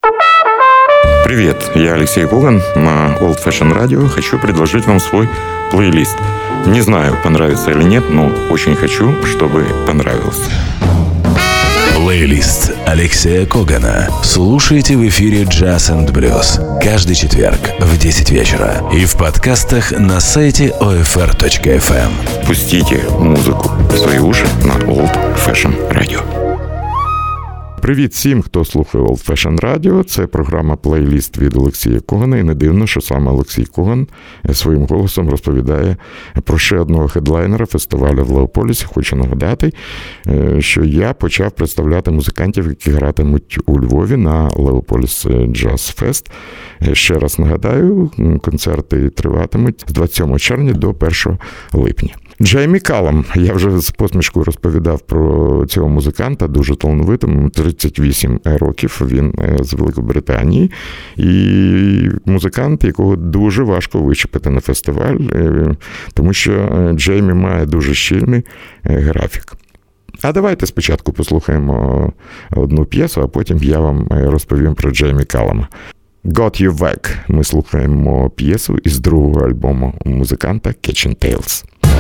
Привет, я Алексей Коган на Old Fashion Radio. Хочу предложить вам свой плейлист. Не знаю, понравится или нет, но очень хочу, чтобы понравился. Плейлист Алексея Когана. Слушайте в эфире Jazz and Blues каждый четверг в 10 вечера и в подкастах на сайте OFR.FM. Пустите музыку в свої уші на Old Fashion Radio. Привіт всім, хто слухає Old Fashion Radio. Це програма «Плейліст» від Олексія Когана. І не дивно, що саме Олексій Коган своїм голосом розповідає про ще одного хедлайнера фестивалю в Леополісі. Хочу нагадати, що я почав представляти музикантів, які гратимуть у Львові на Леополіс Джаз Фест. Ще раз нагадаю, концерти триватимуть з 27 червня до 1 липня. Джеймі Каллам. Я вже з посмішкою розповідав про цього музиканта, дуже талановитий, 38 років, він з Великобританії. І музикант, якого дуже важко вичепити на фестиваль, тому що Джеймі має дуже щільний графік. А давайте спочатку послухаємо одну п'єсу, а потім я вам розповім про Джеймі Каллама. Got You Back. Ми слухаємо п'єсу із другого альбому музиканта Catching Tales.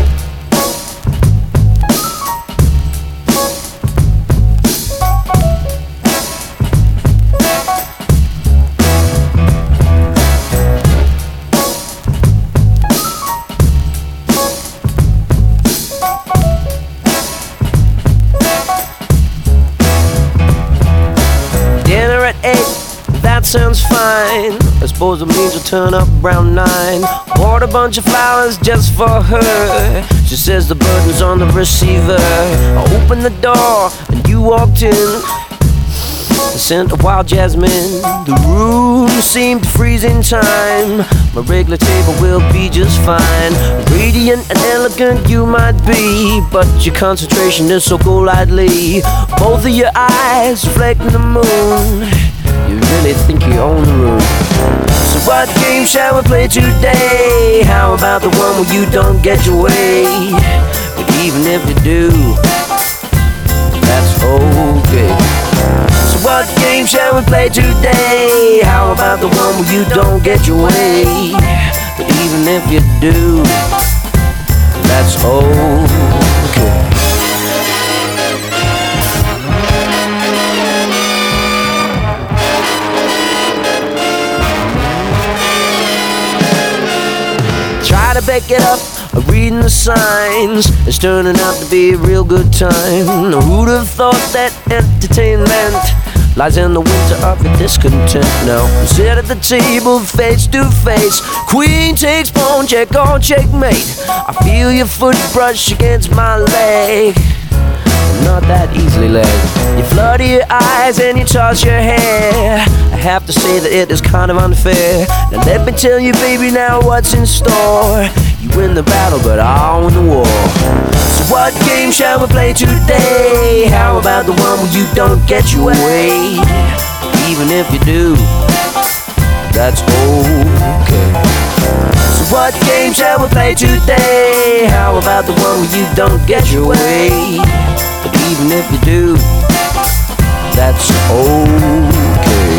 Sounds fine. I suppose it means we'll turn up around 9. Bought a bunch of flowers just for her. She says the burden's on the receiver. I opened the door and you walked in. The scent of wild jasmine. The room seemed to freeze in time. My regular table will be just fine. Radiant and elegant you might be, but your concentration is so golightly. Both of your eyes reflecting the moon. You really think you own the room. So what game shall we play today? How about the one where you don't get your way? But even if you do, that's okay. So what game shall we play today? How about the one where you don't get your way? But even if you do, that's okay. To back it up, reading the signs. It's turning out to be a real good time. Who'd have thought that entertainment lies in the winter of your discontent? Now sit at the table face to face. Queen takes pawn, check on checkmate. I feel your foot brush against my leg. Not that easily led. You flutter your eyes and you toss your hair. I have to say that it is kind of unfair. Now let me tell you, baby, now what's in store. You win the battle, but I'll win the war. So what game shall we play today? How about the one where you don't get your way? Even if you do, that's okay. So what game shall we play today? How about the one where you don't get your way? But even if you do, that's okay.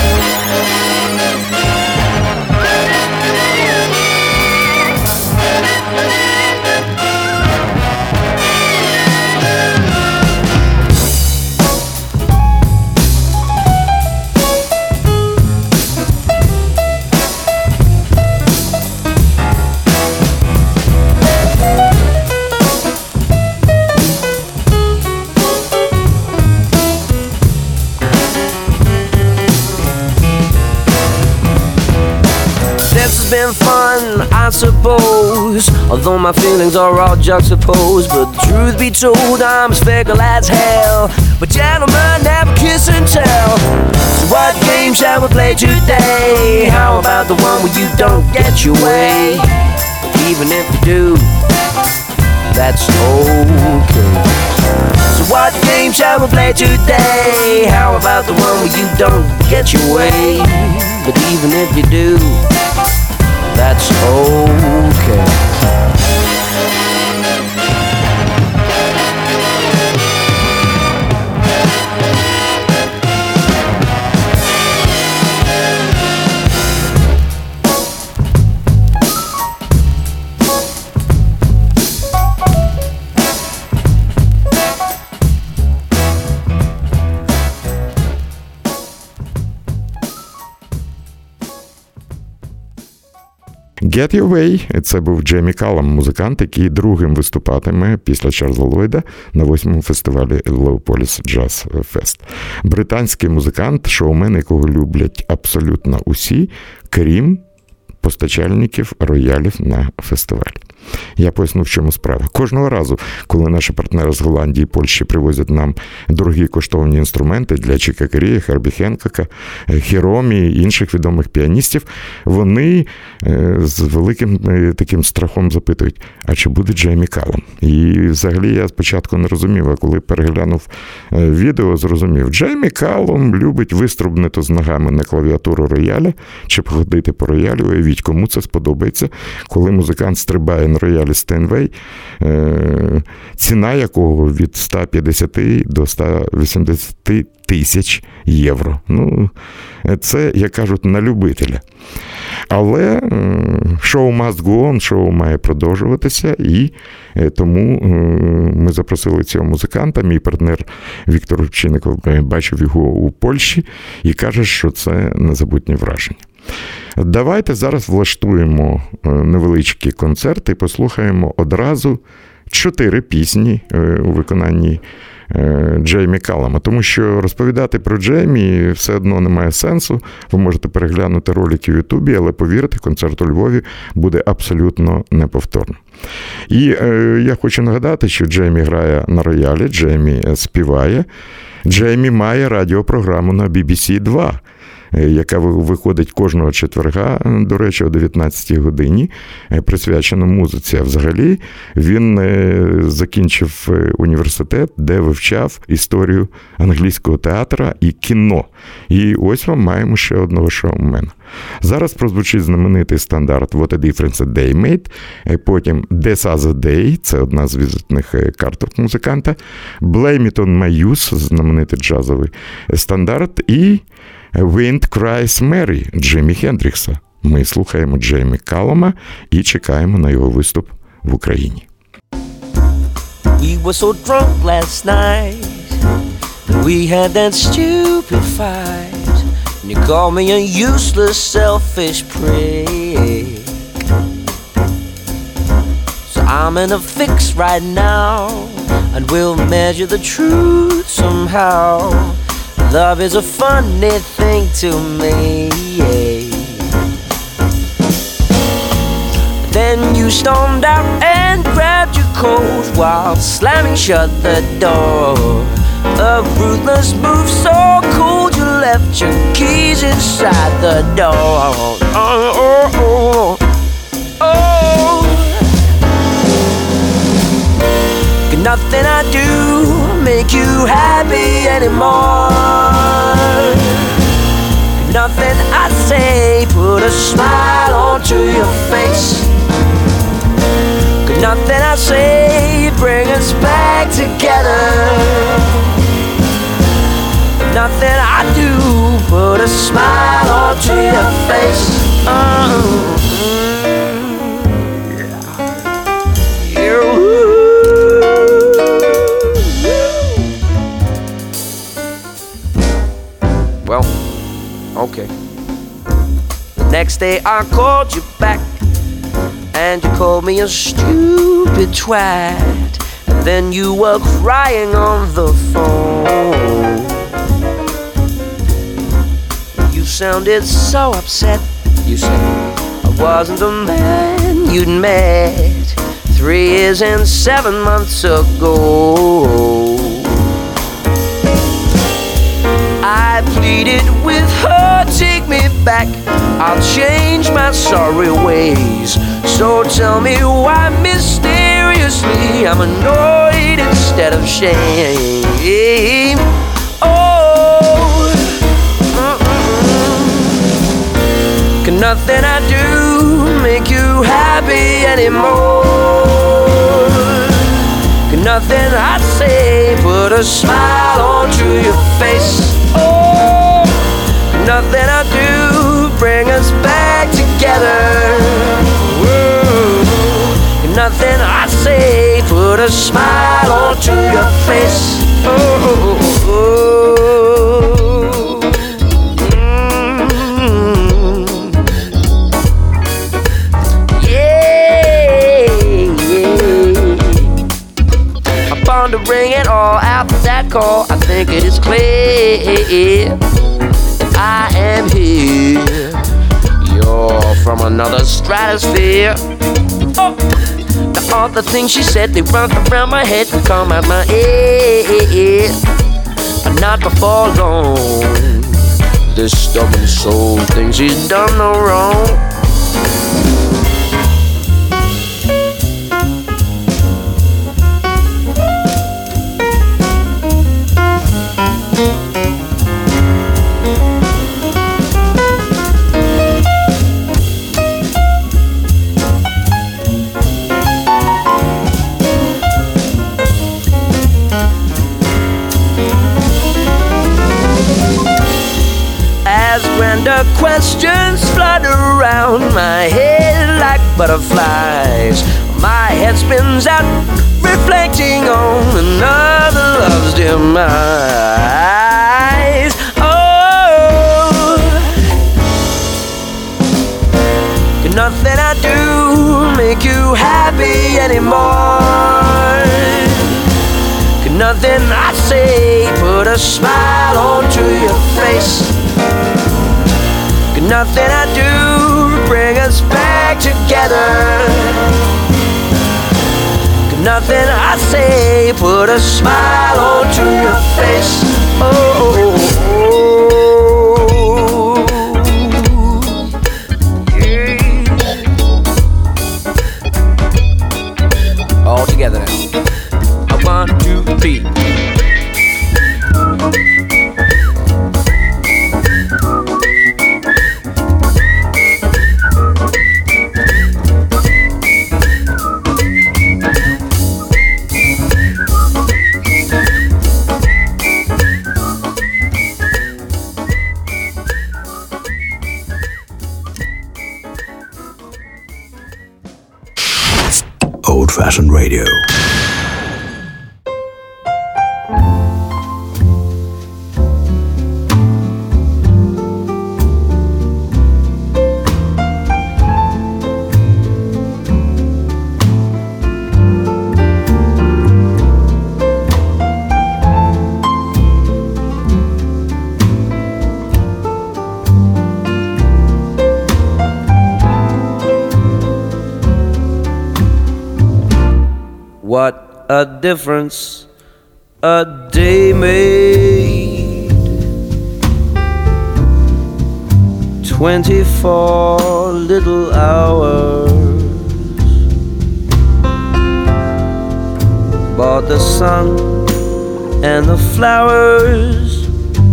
Been fun, I suppose, although my feelings are all juxtaposed. But the truth be told, I'm as fickle as hell. But gentlemen never kiss and tell. So what game shall we play today? How about the one where you don't get your way? Even if you do, that's okay. So what game shall we play today? How about the one where you don't get your way? But even if you do, that's okay. Get Your Way – це був Джеймі Каллам, музикант, який другим виступатиме після Чарльза Ллойда на 8-му фестивалі Леополіс Джаз Фест. Британський музикант, шоумен, якого люблять абсолютно усі, крім постачальників роялів на фестивалі. Я поясню, в чому справа. Кожного разу, коли наші партнери з Голландії і Польщі привозять нам дорогі коштовні інструменти для Чіка Керія, Хербі Хенкока, Хіромі і інших відомих піаністів, вони з великим таким страхом запитують, а чи буде Джеймі Каллам? І взагалі я спочатку не розумів, а коли переглянув відео, зрозумів, Джеймі Каллам любить виструбнути з ногами на клавіатуру рояля чи походити по роялю. Уявіть, кому це сподобається, коли музикант стрибає на роялі Стейнвей, ціна якого від 150 до 180 тисяч євро. Ну, це, як кажуть, на любителя. Але шоу must go on, шоу має продовжуватися, і тому ми запросили цього музиканта. Мій партнер Віктор Рубчинников бачив його у Польщі і каже, що це незабутнє враження. Давайте зараз влаштуємо невеличкі концерти і послухаємо одразу 4 пісні у виконанні Джеймі Каллама, тому що розповідати про Джеймі все одно немає сенсу. Ви можете переглянути ролики в Ютубі, але повірте, концерт у Львові буде абсолютно неповторним. І я хочу нагадати, що Джеймі грає на роялі, Джеймі співає, Джеймі має радіопрограму на BBC 2, яка виходить кожного четверга, до речі, о 19-й годині, присвячена музиці. А взагалі він закінчив університет, де вивчав історію англійського театру і кіно. І ось вам маємо ще одного шоумена. Зараз прозвучить знаменитий стандарт «What a difference a day made», потім «This other day», це одна з візитних карток музиканта, «Blame it on my youth», знаменитий джазовий стандарт, і «Wind Cries Mary» Джимі Хендрікса. Ми слухаємо Джеймі Каллама і чекаємо на його виступ в Україні. We were so drunk last night that we had that stupid fight, and you called me a useless, selfish prick. So I'm in a fix right now, and we'll measure the truth somehow. Love is a funny thing to me. Then you stormed out and grabbed your coat while slamming shut the door. A ruthless move so cold you left your keys inside the door. Nothing I do make you happy anymore. Nothing I say put a smile onto your face. Nothing I say bring us back together. Nothing I do put a smile onto your face. Well, okay. The next day I called you back, and you called me a stupid twat. And then you were crying on the phone. You sounded so upset. You said I wasn't the man you'd met 3 years and 7 months ago. I pleaded with her, take me back, I'll change my sorry ways. So tell me why mysteriously I'm annoyed instead of shame. Oh, can nothing I do make you happy anymore? Can nothing I say put a smile onto your face? Oh, nothing I do bring us back together. Whoa. Nothing I say put a smile onto your face. Oh, oh, think it is clear I am here. You're from another stratosphere. Oh. Now all the things she said, they run around my head and come out my ear. But not before long. This stubborn soul thinks he's done no wrong. Grander questions flutter around my head like butterflies. My head spins out, reflecting on another love's demise. Oh, can nothing I do make you happy anymore? Can nothing I say put a smile onto your face? Nothing I do bring us back together. Nothing I say put a smile onto your face. Oh, yeah. All together now. 1, 2, 3. Old-fashioned radio. What a difference a day made. 24 little hours bought the sun and the flowers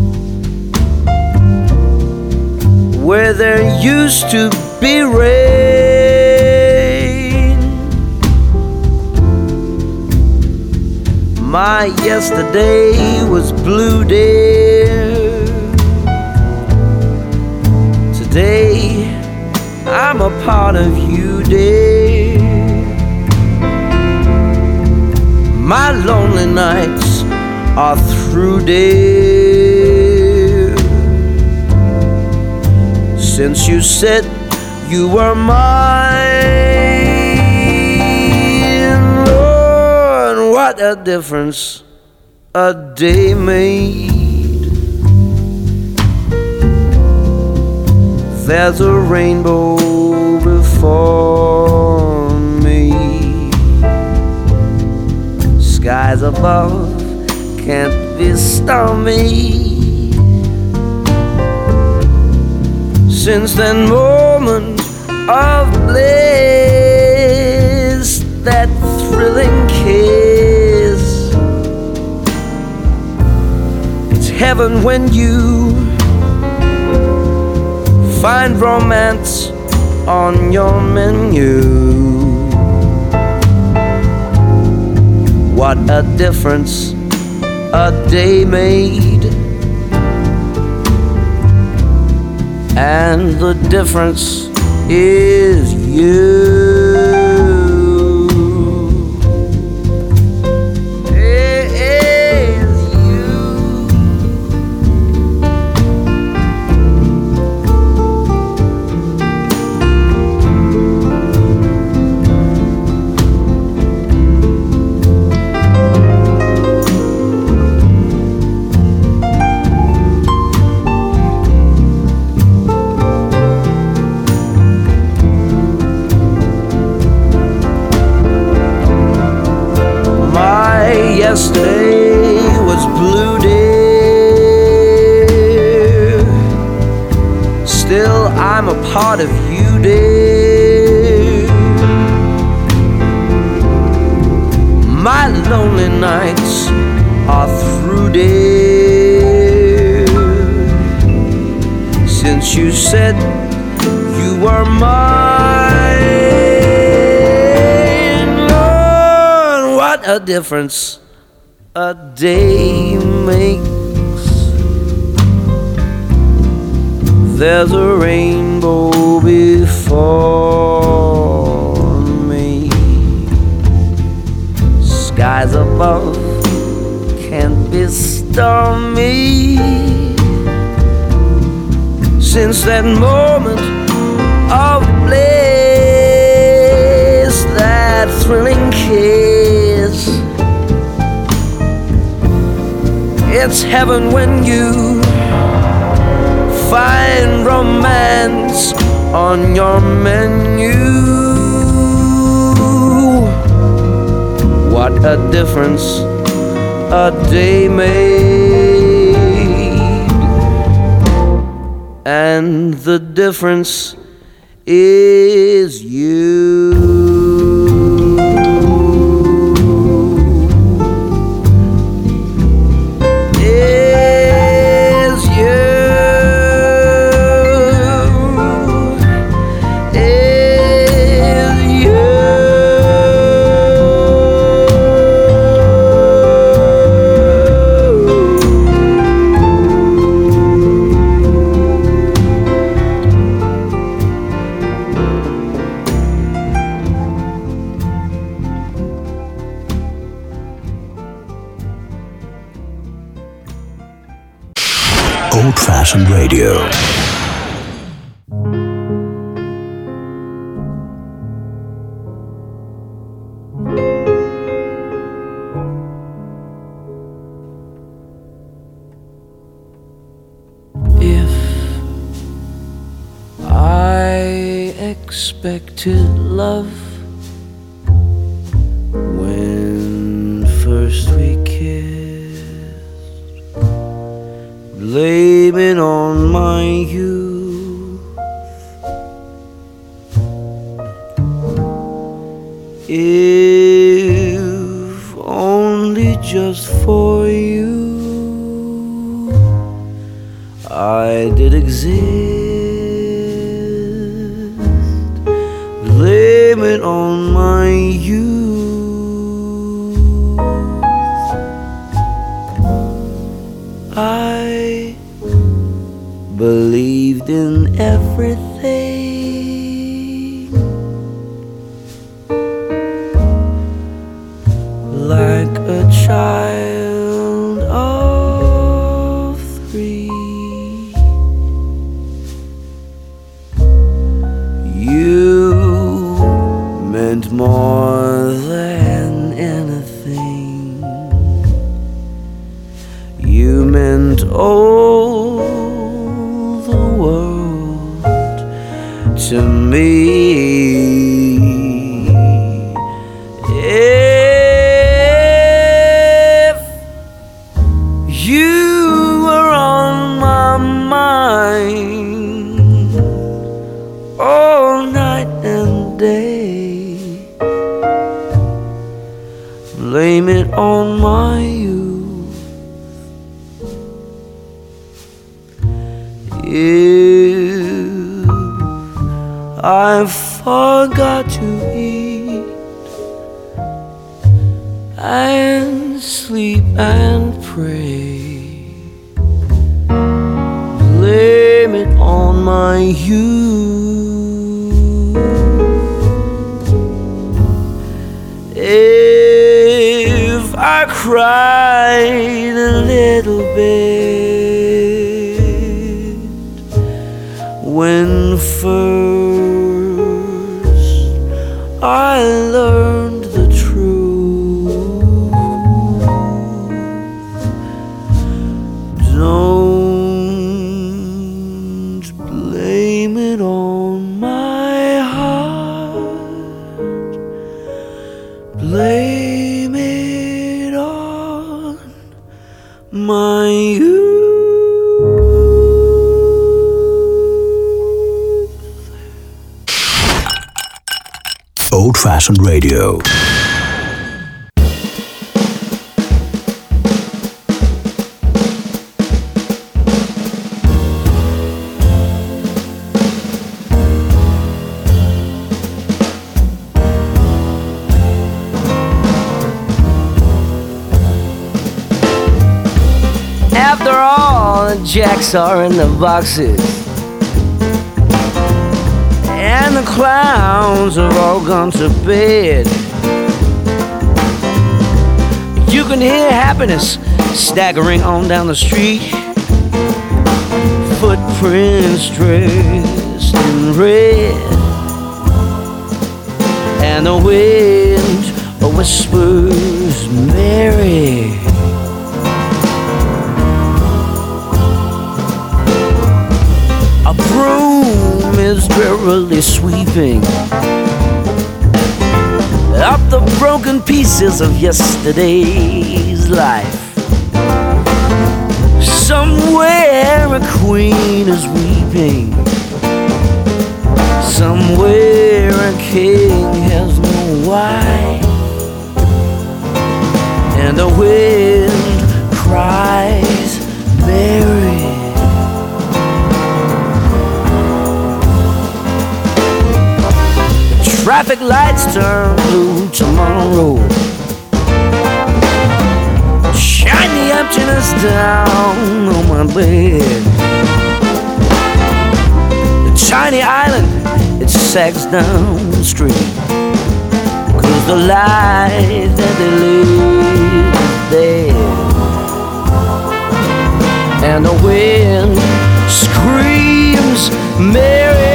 where there used to be rain. My yesterday was blue, dear. Today I'm a part of you, dear. My lonely nights are through, dear. Since you said you were mine. What a difference a day made. There's a rainbow before me. Skies above can't be stormy. Since that moment of bliss, that thrilling kiss, it's heaven when you find romance on your menu. What a difference a day made. And the difference is you. Still, I'm a part of you, dear. My lonely nights are through, dear. Since you said you were mine, Lord, what a difference a day makes. There's a rainbow before me. Skies above can't be stormy. Since that moment of bliss, that thrilling kiss, it's heaven when you find romance on your menu. What a difference a day made, and the difference is you. Old-fashioned radio. If I expected love when first we kissed, blame it on my youth. If only just for you I did exist, blame it on my youth. I believed in everything, like a child of 3. You meant more than anything. You meant all the world to me. If you were on my mind all night and day, blame it on my youth. If I forgot to eat and sleep and pray, blame it on my youth. If I cried a little bit when first I learned the truth, don't blame it on my heart, blame it on my youth. Old-Fashioned Radio. After all, the jacks are in the boxes, and the clowns have all gone to bed. You can hear happiness staggering on down the street, footprints dressed in red, and the wind whispers Mary. A broom is drearily sweeping up the broken pieces of yesterday's life. Somewhere a queen is weeping, somewhere a king has no wife, and the wind cries Mary. Traffic lights turn blue tomorrow. Shine the emptiness down on my bed. The tiny island, it sags down the street, 'cause the life that they live is dead. And the wind screams Mary.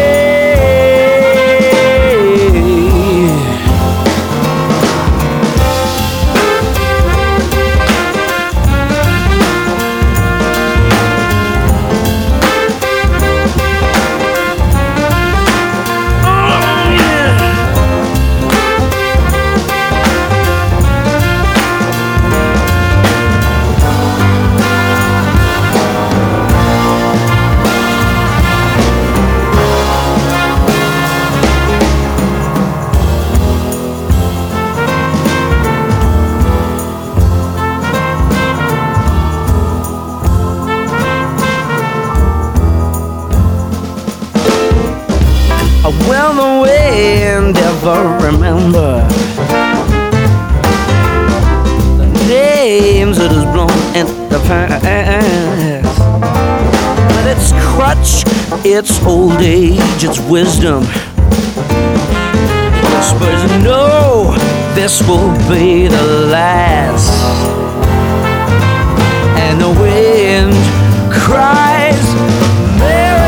Well, the wind ever remember the names it has blown in the past, but its crutch, its old age, its wisdom whispers, no, this will be the last. And the wind cries Mary.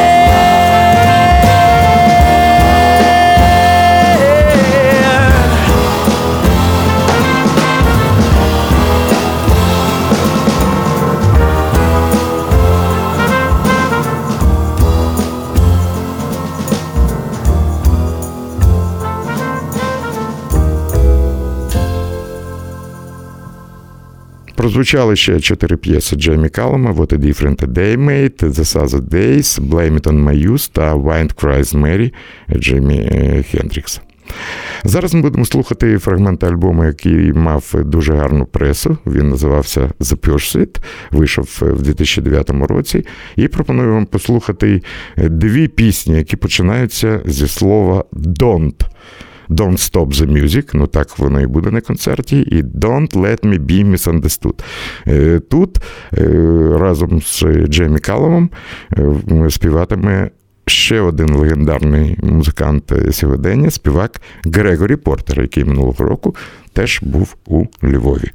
Прозвучали ще 4 п'єси Джеймі Каллама «What a Difference a Day Made», «The Southern Days», «Blame It on My Youth» та «Wind Cries Mary» Джимі Хендрікса. Зараз ми будемо слухати фрагмент альбому, який мав дуже гарну пресу. Він називався «The Pursuit», вийшов в 2009 році. І пропоную вам послухати 2 пісні, які починаються зі слова «Don't». Don't Stop the Music, ну так воно і буде на концерті, і Don't Let Me Be Misunderstood. Тут разом з Джеймі Калломом співатиме ще один легендарний музикант сьогодення, співак Грегорі Портер, який минулого року теж був у Львові.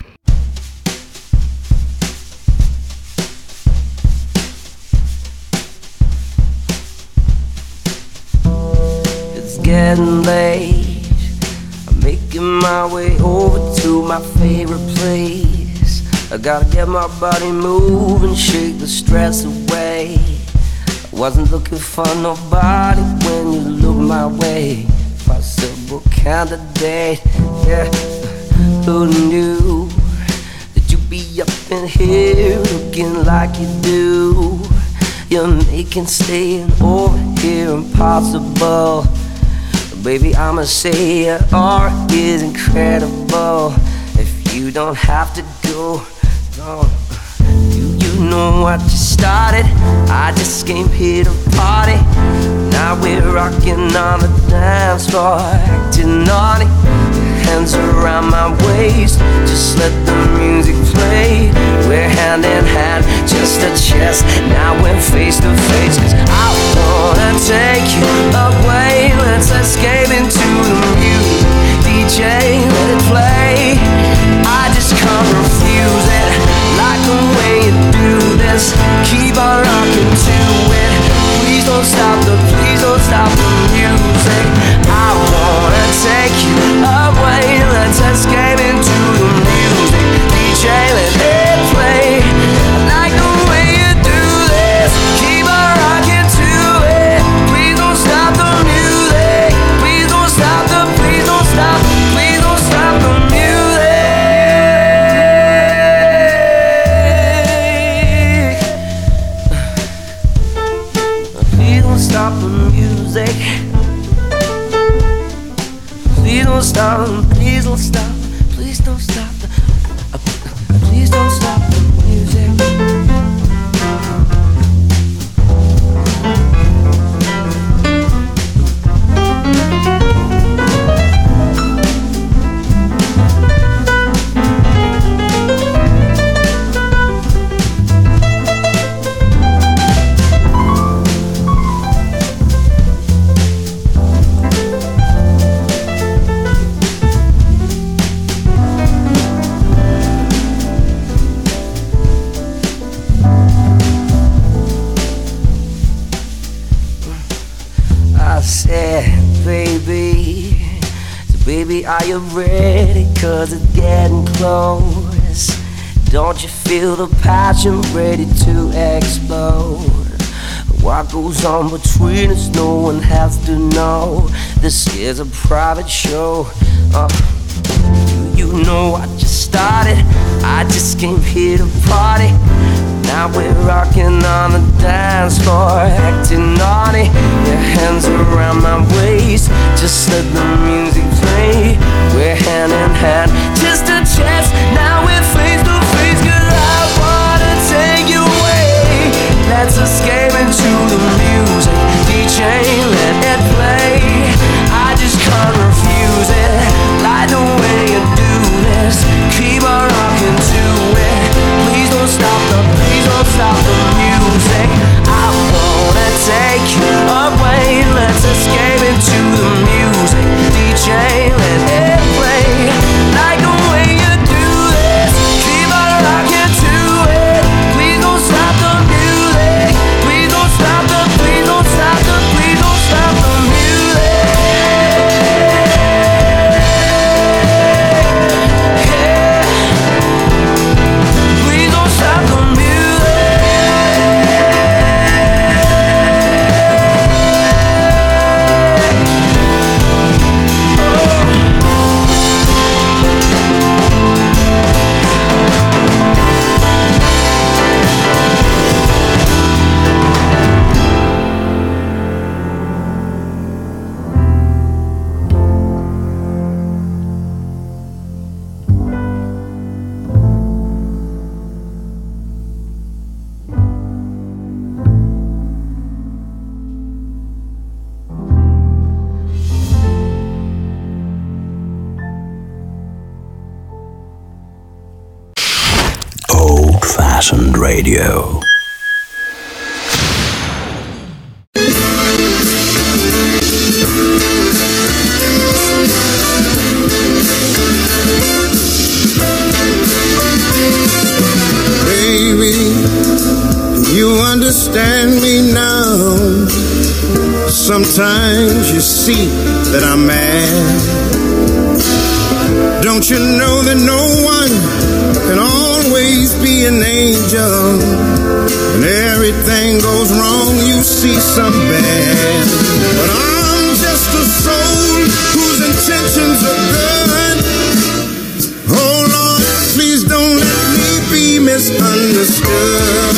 It's getting late. Making my way over to my favorite place. I gotta get my body moving, shake the stress away. I wasn't looking for nobody when you looked my way. Possible candidate, yeah. Who knew that you'd be up in here looking like you do? You're making staying over here impossible. Baby, I'ma say your art is incredible. If you don't have to go, no. Do you know what you started? I just came here to party. Now we're rocking on the dance floor, acting naughty. Hands around my waist, just let the music play. We're hand in hand, chest to chest. Now we're face to face. 'Cause I wanna take you away. Let's escape into the music. DJ, let it play. I just can't refuse it. Like the way you do this. Keep on rocking to it. Please don't stop the music. I wanna take you away. Let's escape into the music. DJ, let it play. I like the way you do this. Keep on rocking to it. Please don't stop the music. Please don't stop the, please don't stop, please don't stop the music. Please don't stop the music. Please don't stop, please don't stop, please don't stop the, please don't stop the music. Baby, are you ready? 'Cause it's getting close. Don't you feel the passion ready to explode? What goes on between us, no one has to know. This is a private show. You know I just started. I just came here to party. Now we're rocking on the dance floor, acting naughty. Your hands around my waist, just let the music play. We're hand in hand, just a chance. Now we're face to face. 'Cause I wanna take you away. Let's escape into the music. DJ, let it play. I just can't refuse it. Like the way you do this. Keep on rocking to it. Please don't stop the, please don't stop the music. I wanna take you away. Let's escape into the music. DJ, let it play. Like the way you do this. Keep on rocking to it. Please don't stop the music. Please don't stop the, please don't stop the, please don't stop the music. Yeah. Please don't stop the Old-fashioned radio. Baby, do you understand me now? Sometimes you see that I'm mad. Don't you know that no one can always be an angel? When everything goes wrong, you see some bad. But I'm just a soul whose intentions are good. Oh Lord, please don't let me be misunderstood.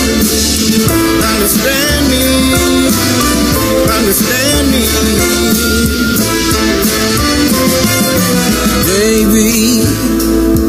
Understand me, understand me.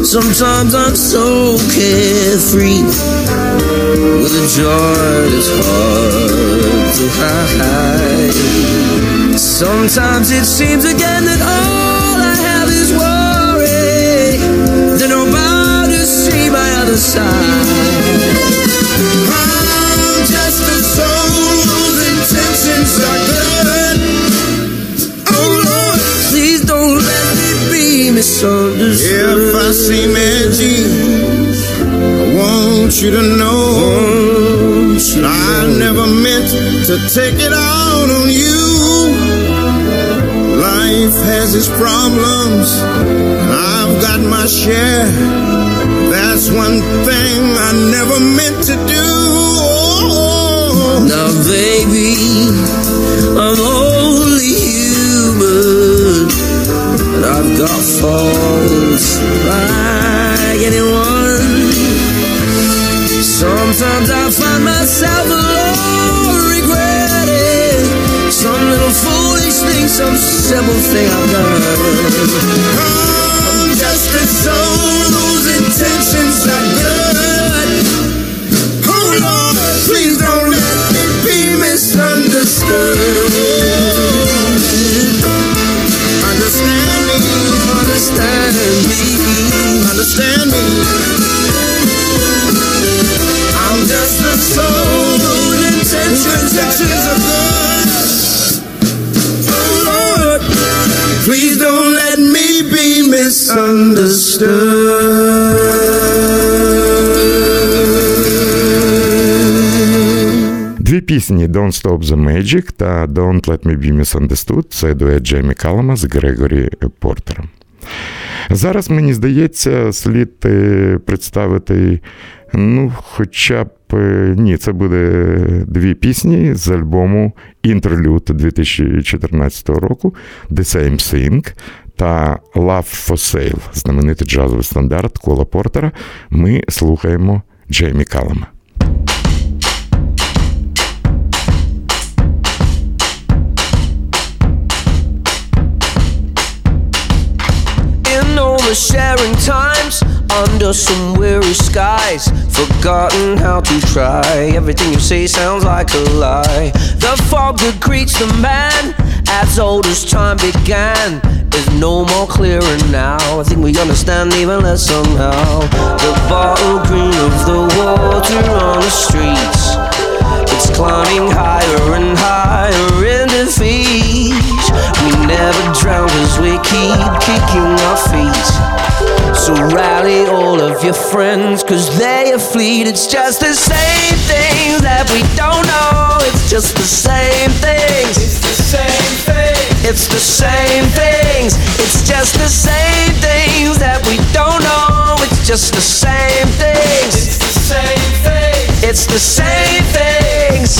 Sometimes I'm so carefree with a joy that's hard to hide. Sometimes it seems again that all I have is worry, that I'm about to see my other side. I'm just a soul whose intentions are good. Oh Lord, please don't let me be misunderstood. If I seem edgy, I want you to know that I never meant to take it out on you. Life has its problems, and I've got my share. That's one thing I never meant to do. Now baby, I'm only human, and I've got faults like anyone. Sometimes I find myself alone regretting some little foolish thing, some simple thing I've done. I'm just a soul whose intentions are good. Oh Lord, please don't let me be misunderstood. Understand me, Understand me, understand me. I'm just a soul whose intentions are good. Oh Lord, please don't let me be misunderstood. Дві пісні «Don't Stop the Magic» та «Don't Let Me Be Misunderstood» – це дует Джеймі Каллама з Грегорі Портером. Зараз, мені здається, слід представити, хоча б, ні, це буде дві пісні з альбому «Interlude» 2014 року «The Same Thing» та «Love for Sale» – знаменитий джазовий стандарт Кола Портера. Ми слухаємо Джеймі Каллама. Sharing times under some weary skies, forgotten how to try. Everything you say sounds like a lie. The fog that greets the man as old as time began is no more clearer now. I think we understand even less somehow. The bottle green of the water on the streets, it's climbing higher and higher in defeat. We never drown cause we keep kicking our feet. So rally all of your friends cause they are fleet. It's just the same things that we don't know. It's just the same things. It's the same thing. It's the same things. It's just the same things that we don't know. It's just the same things. It's the same thing. It's the same things.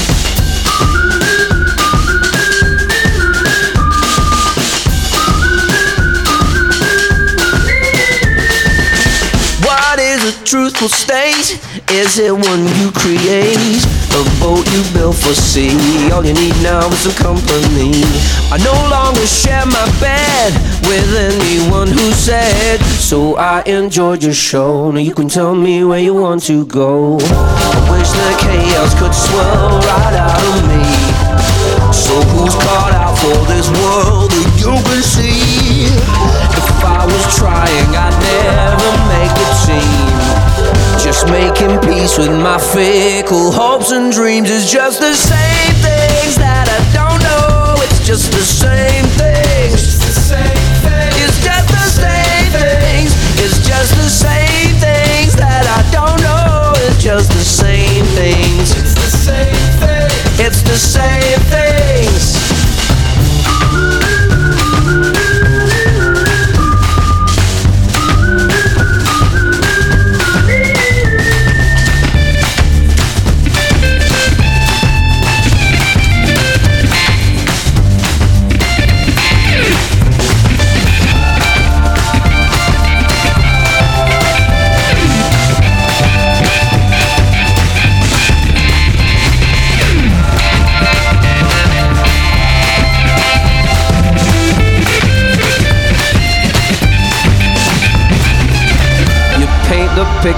A truthful state, is it one you create? A boat you built for sea. All you need now is some company. I no longer share my bed with anyone who said so. I enjoyed your show. Now you can tell me where you want to go. I wish the chaos could swell right out of me. So who's caught out for this world that you can see? If I was trying, I'd never make it seem. Just making peace with my fickle hopes and dreams is just the same things that I don't know. It's just the same things. It's the same thing. It's just the same things. It's just the same things that I don't know. It's just the same things. It's the same thing. It's the same things.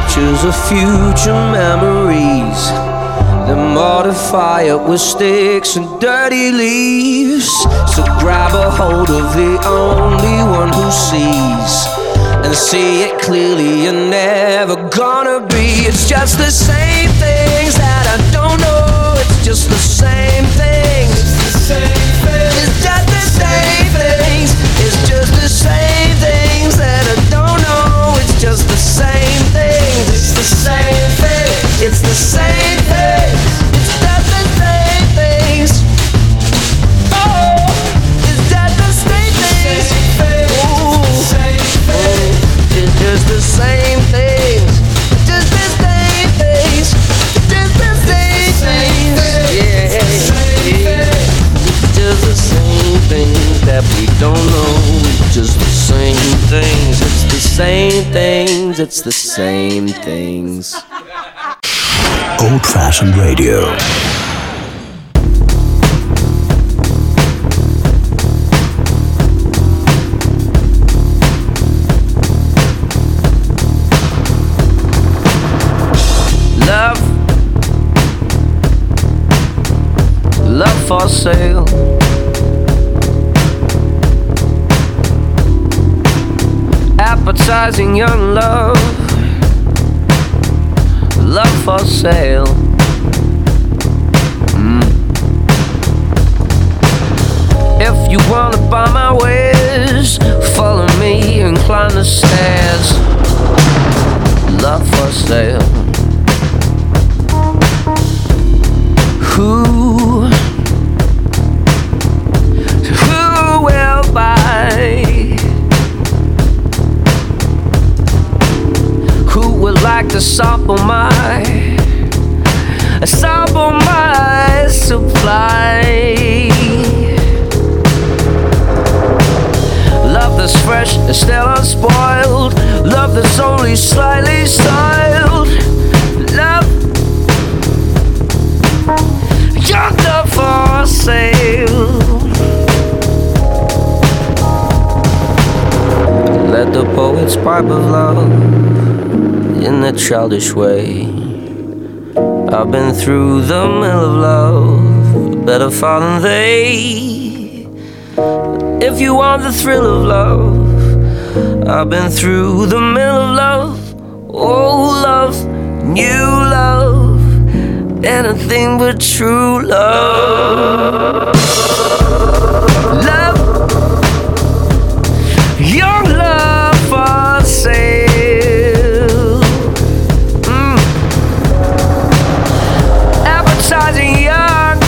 pictures of future memories that mortify it with sticks and dirty leaves. So grab a hold of the only one who sees, and see it clearly. You're never gonna be. It's just the same things that I don't know. It's just the same things. It's just the same things. It's just the same things that I don't know. It's just the same things. It's the same thing. It's the same thing. It's just the same things. Oh, it's just the same things. Ooh, it's just the same things. Just the same things. Just the same things. Yeah, yeah. Just the same things that we don't know. It's just the same things. It's the same things. It's the same things. Old-fashioned radio. Love for sale. Appetizing young love. Love for sale. If you wanna buy my wares, follow me and climb the stairs. Love for sale. Who will buy? Who would like to sample my supply? Love that's fresh and still unspoiled. Love that's only slightly styled. Love, young love for sale. Let the poets pipe of love in a childish way. I've been through the mill of love, better far than they. If you want the thrill of love, I've been through the mill of love. Oh, love, new love, anything but true love. Love, young love for sale. Appetizing young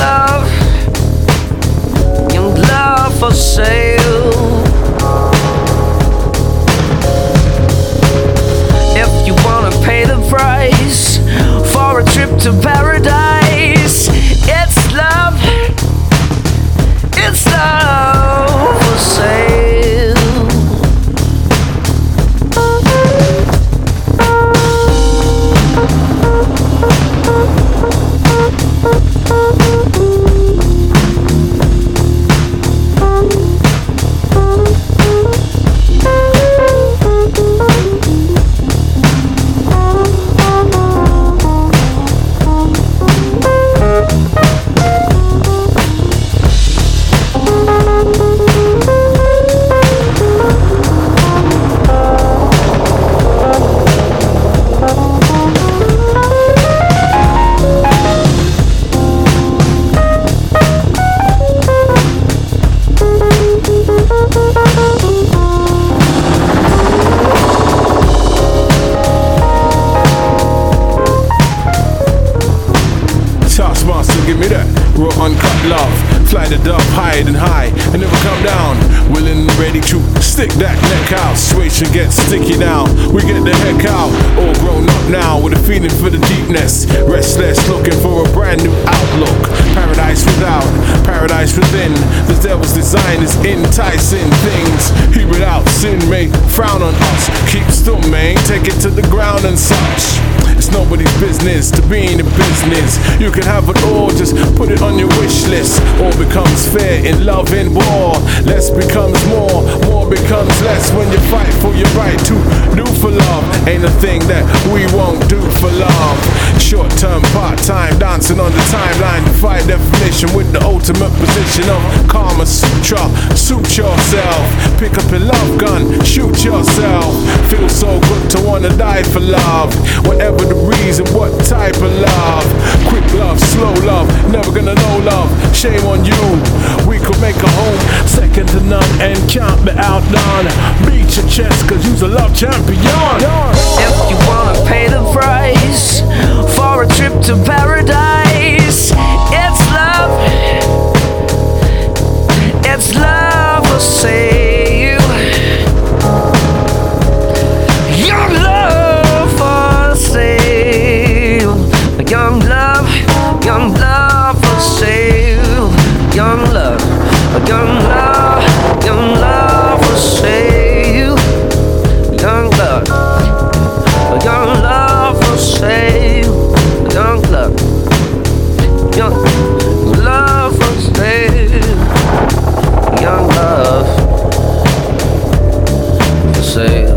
love for sale. If you wanna pay the price for a trip to paradise, it's love for sale. Give me that raw uncut love. Fly the dove high and high and never come down. Willing and ready to stick that neck out. Situation gets sticky now. We get the heck out. All grown up now with a feeling for the deepness. Restless, looking for a brand new outlook. Paradise without, paradise within. The devil's design is enticing things. Hear it out, sin may frown on us. Keep still, man, take it to the ground and such. It's It's nobody's business to be in the business. You can have it all, just put it on your wish list. All becomes fair in love and war. Less becomes more, more becomes less when you fight for your right to do for love. Ain't a thing that we won't do for love. Short term, part time, dancing on the timeline. Defy definition with the ultimate position of Kama Sutra. Suit yourself, pick up your love gun, shoot yourself. Feels so good to wanna die for love. Whatever the reason, what type of love? Quick love, slow love, never gonna know love. Shame on you, we could make a home second to none and can't be outdone. Beat your chest cause you's a love champion. If you wanna pay the price for a trip to paradise, it's love. It's love will save. Your love will save. Young love will save. Young love, young love, young love will save. Young love will save. Young love will save. Young love will save.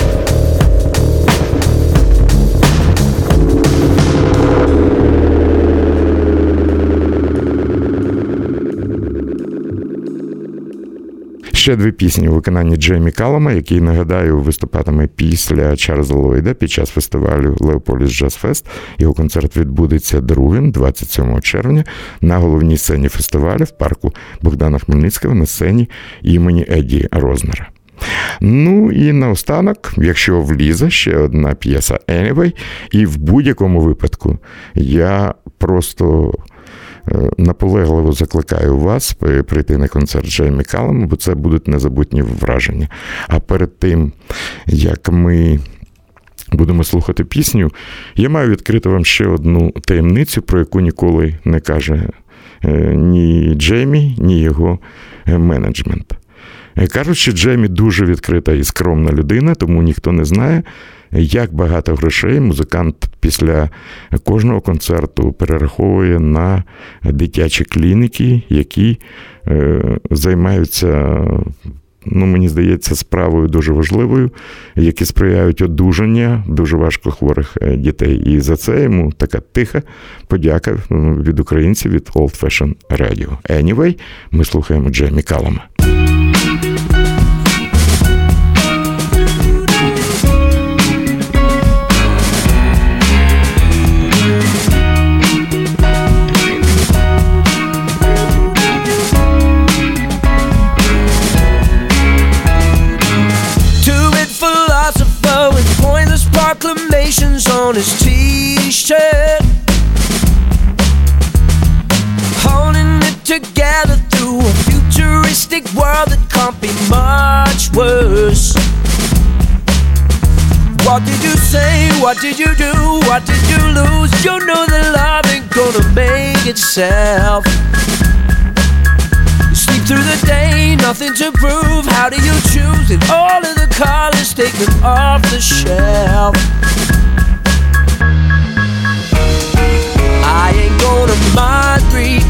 Ще дві пісні у виконанні Джеймі Каллама, який, нагадаю, виступатиме після Чарльза Ллойда під час фестивалю Леополіс Джаз Фест. Його концерт відбудеться 2-м, 27 червня, на головній сцені фестивалю в парку Богдана Хмельницького на сцені імені Едді Рознера. Ну і наостанок, якщо влізе, ще одна п'єса «Anyway», і в будь-якому випадку я просто наполегливо закликаю вас прийти на концерт Джеймі Каллама, бо це будуть незабутні враження. А перед тим, як ми будемо слухати пісню, я маю відкрити вам ще одну таємницю, про яку ніколи не каже ні Джеймі, ні його менеджмент. Кажуть, що Джеймі дуже відкрита і скромна людина, тому ніхто не знає, як багато грошей музикант після кожного концерту перераховує на дитячі клініки, які займаються, мені здається, справою дуже важливою, які сприяють одужання дуже важко хворих дітей. І за це йому така тиха подяка від українців, від Old Fashion Radio. Anyway, ми слухаємо Джеймі Каллама. Proclamations on his t-shirt, holding it together through a futuristic world that can't be much worse. What did you say? What did you do? What did you lose? You know that love ain't gonna make itself. You sleep through the day, nothing to prove. How do you choose? And all of the colors, take them off the shelf. I ain't gonna mind read.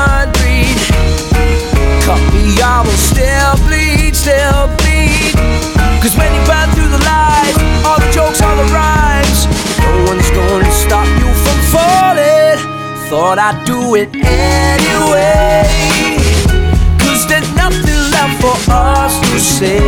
Cut me, I will still bleed. Cause when you burn through the lies, all the jokes, all the rhymes, no one's gonna stop you from falling. Thought I'd do it anyway, cause there's nothing left for us to say.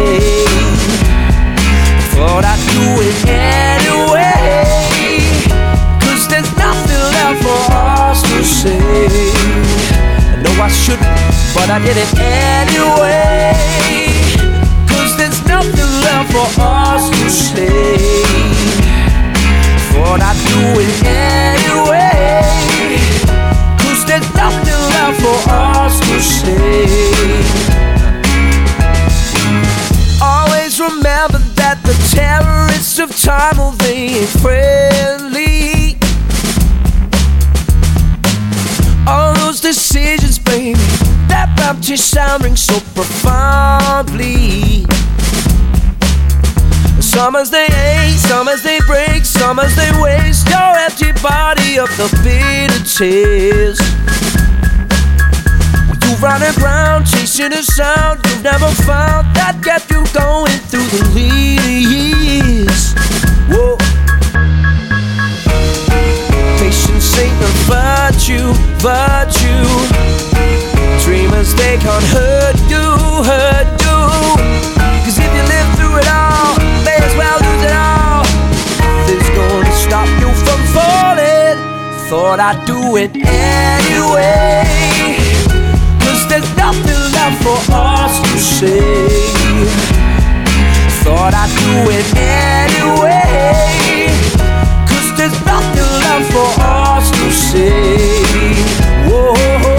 Thought I'd do it anyway, cause there's nothing left for us to say. I know I shouldn't, but I did it anyway, cause there's nothing left for us to say. Thought I'd do it anyway, cause there's nothing left for us to say. Always remember that the terrorists of time, well, they ain't friendly. All those decisions, baby, that Baptist sound rings so profoundly. Some as they ache, some as they break, some as they waste your empty body of the bitter tears. You running around chasing a sound you've never found that kept you going through the later years. Whoa. Patience ain't a virtue, virtue. Dreamers, they can't hurt you, hurt you. 'Cause if you live through it all, may as well lose it all. Nothing's gonna stop you from falling. Thought I'd do it anyway. 'Cause there's nothing left for us to say. Thought I'd do it anyway. 'Cause there's nothing left for us to say. Whoa.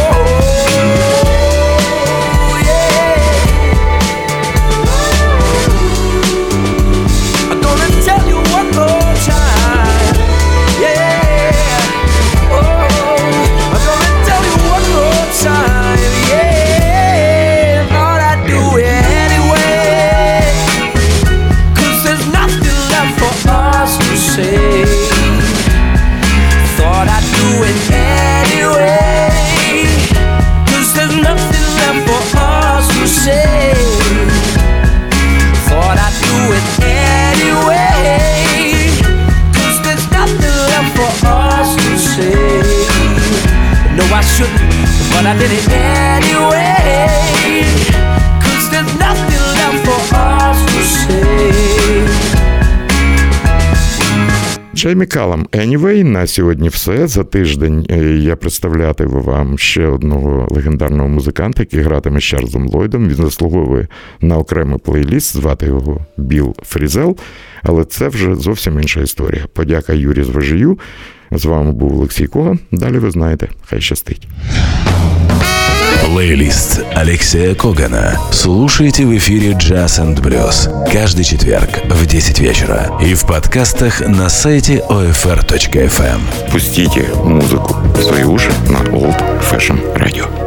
But I did it anyway. 'Cause there's nothing left for us to say. Джеймі Каллам, Anyway. На сьогодні все. За тиждень я представлятиму вам ще одного легендарного музиканта, який гратиме з Чарльзом Ллойдом. Він заслуговує на окремий плейліст, звати його Біл Фрізел. Але це вже зовсім інша історія. Подяка Юрі Зважію. З вами був Олексій Коган. Далі ви знаєте. Хай щастить. Плейлист Алексея Когана слушайте в эфире Jazz and Blues каждый четверг в 10 вечера и в подкастах на сайте OFR.FM. Пустите музыку в свои уши на Old Fashion Radio.